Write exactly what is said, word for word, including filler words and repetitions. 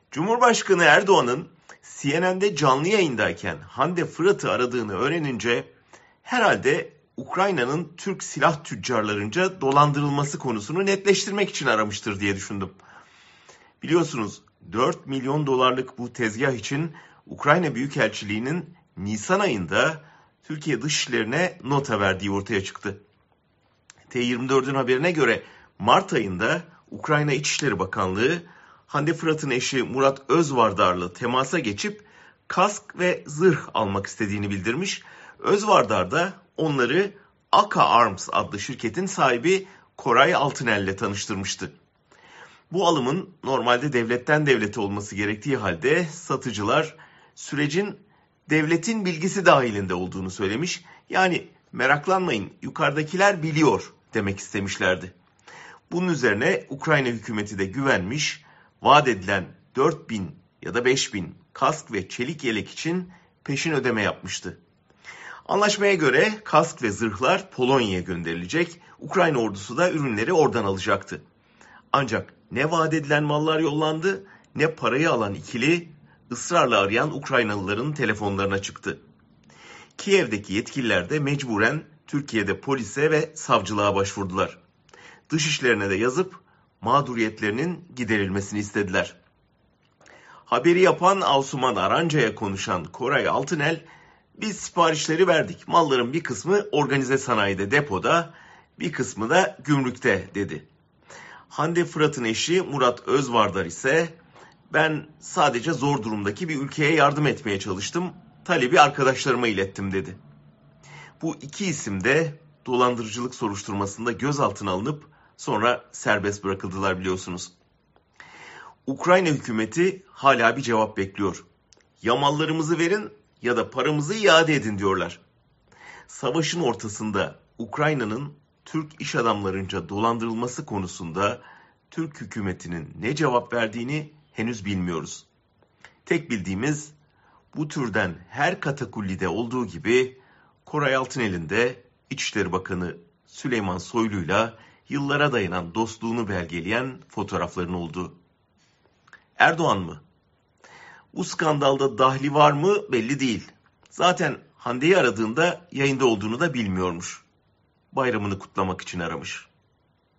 Cumhurbaşkanı Erdoğan'ın C N N'de canlı yayındayken Hande Fırat'ı aradığını öğrenince herhalde Ukrayna'nın Türk silah tüccarlarınca dolandırılması konusunu netleştirmek için aramıştır diye düşündüm. Biliyorsunuz dört milyon dolarlık bu tezgah için Ukrayna Büyükelçiliği'nin Nisan ayında Türkiye Dışişleri'ne nota verdiği ortaya çıktı. T yirmi dört'ün haberine göre Mart ayında Ukrayna İçişleri Bakanlığı Hande Fırat'ın eşi Murat Özvardar'la temasa geçip kask ve zırh almak istediğini bildirmiş. Özvardar da onları Aka Arms adlı şirketin sahibi Koray Altınel'le tanıştırmıştı. Bu alımın normalde devletten devlete olması gerektiği halde satıcılar sürecin devletin bilgisi dahilinde olduğunu söylemiş. Yani meraklanmayın, yukarıdakiler biliyor demek istemişlerdi. Bunun üzerine Ukrayna hükümeti de güvenmiş, vaat edilen dört bin ya da beş bin kask ve çelik yelek için peşin ödeme yapmıştı. Anlaşmaya göre kask ve zırhlar Polonya'ya gönderilecek, Ukrayna ordusu da ürünleri oradan alacaktı. Ancak ne vaat edilen mallar yollandı, ne parayı alan ikili ısrarla arayan Ukraynalıların telefonlarına çıktı. Kiev'deki yetkililer de mecburen Türkiye'de polise ve savcılığa başvurdular. Dışişlerine de yazıp mağduriyetlerinin giderilmesini istediler. Haberi yapan Asuman Aranca'ya konuşan Koray Altınel, biz siparişleri verdik, malların bir kısmı organize sanayide depoda, bir kısmı da gümrükte dedi. Hande Fırat'ın eşi Murat Özvardar ise ben sadece zor durumdaki bir ülkeye yardım etmeye çalıştım, talebi arkadaşlarıma ilettim dedi. Bu iki isim de dolandırıcılık soruşturmasında gözaltına alınıp sonra serbest bırakıldılar biliyorsunuz. Ukrayna hükümeti hala bir cevap bekliyor. Ya mallarımızı verin ya da paramızı iade edin diyorlar. Savaşın ortasında Ukrayna'nın Türk iş adamlarınca dolandırılması konusunda Türk hükümetinin ne cevap verdiğini henüz bilmiyoruz. Tek bildiğimiz bu türden her katakullide olduğu gibi Koray Altınel'in de İçişleri Bakanı Süleyman Soylu'yla yıllara dayanan dostluğunu belgeleyen fotoğrafların olduğu. Erdoğan mı? Bu skandalda dahli var mı belli değil. Zaten Hande'yi aradığında yayında olduğunu da bilmiyormuş. Bayramını kutlamak için aramış.